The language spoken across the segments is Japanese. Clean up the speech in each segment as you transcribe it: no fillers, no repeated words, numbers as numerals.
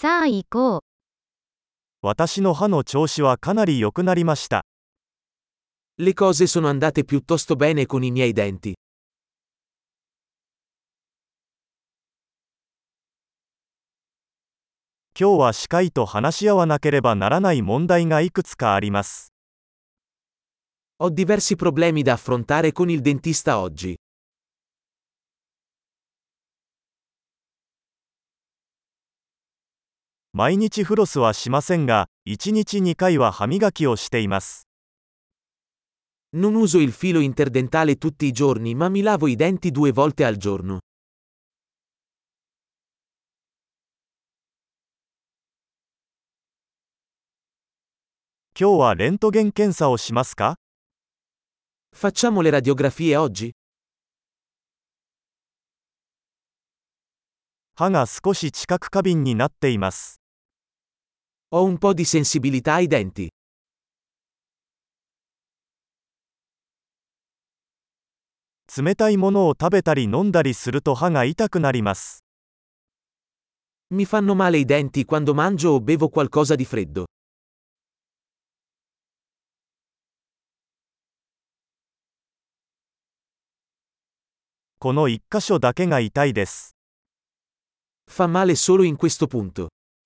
さあ行こう。 私の歯の調子はかなり良くなりました。 Le cose sono andate piuttosto bene con i miei denti. 今日は歯科医と話し合わなければならない問題がいくつかあります。 Ho diversi problemi da affrontare con il dentista oggi. 毎日フロスはしませんが、1日2回は歯磨きをしています。 Non uso il filo interdentale tutti i giorni, ma mi lavo i denti 2 volte al giorno. 今日はレントゲン検査をしますか？ Facciamo le radiografie oggi? 歯が少し知覚過敏になっています。 Ho un po' di sensibilità ai denti. 冷たいものを食べたり飲んだりすると歯が痛くなります。 Mi fanno male i denti quando mangio o bevo qualcosa di freddo. この一箇所だけが痛いです。 Fa male solo in questo punto.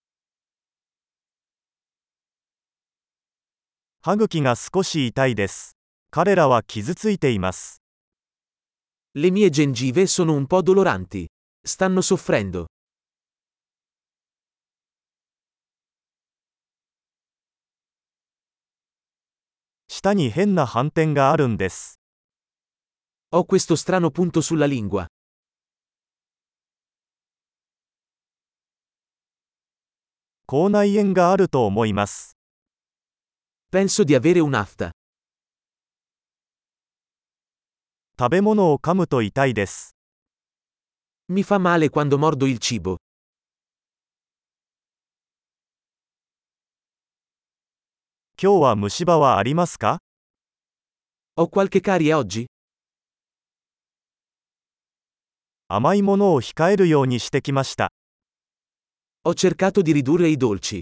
歯茎が少し痛いです。彼らは傷ついています。 Le mie gengive sono un po' doloranti. Stanno soffrendo. 舌に変な斑点があるんです。 Ho questo strano punto sulla lingua. 口内炎があると思います。 Penso di avere un'afta. 食べ物を噛むと痛いです。 Mi fa male quando mordo il cibo. 今日は虫歯はありますか？ Ho qualche carie oggi? 甘いものを控えるようにしてきました。 Ho cercato di ridurre i dolci.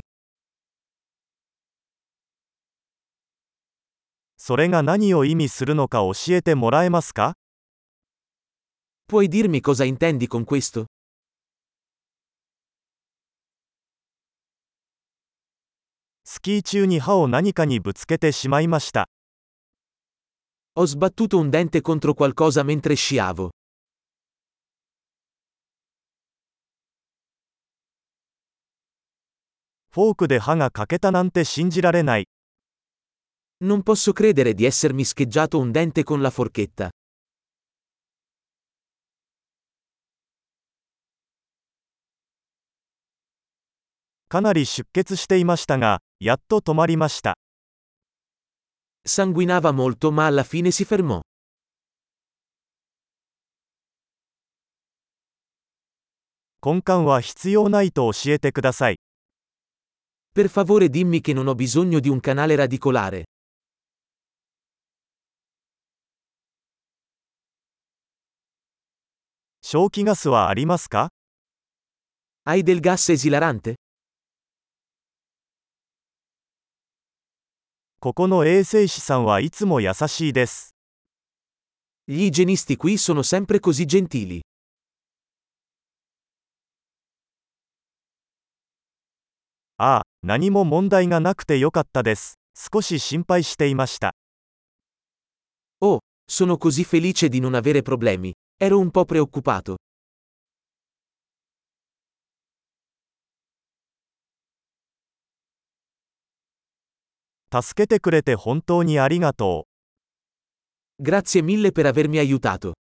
それが何を意味するのか教えてもらえますか？ Puoi dirmi cosa intendi con questo? スキー中に歯を何かにぶつけてしまいました。 Ho sbattuto un dente contro qualcosa mentre sciavo. フォークで歯が欠けたなんて信じられない。 Non posso credere di essermi scheggiato un dente con la forchetta. かなり出血していましたが、やっと止まりました。 Sanguinava molto ma alla fine si fermò. 根幹は必要ないと教えてください。 Per favore dimmi che non ho bisogno di un canale radicolare. 消気ガスはありますか？ Hai del gas esilarante? ここの衛生士さんはいつも優しいです。 Gli igienisti qui sono sempre così gentili. ああ、何も問題がなくてよかったです。少し心配していました。 Oh, sono così felice di non avere problemi. Ero un po' preoccupato. 助けてくれて本当にありがとう。 Grazie mille per avermi aiutato.